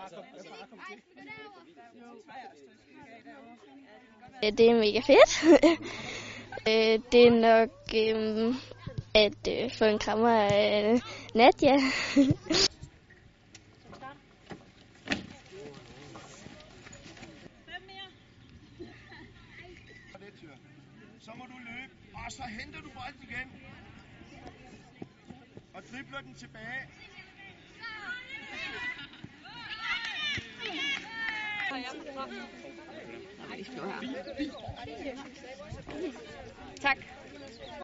Det er mega fedt. Det er nok at få en krammer af Nadia. Så må du løbe, og så henter du bolden igen. Og dribler den tilbage. Tak.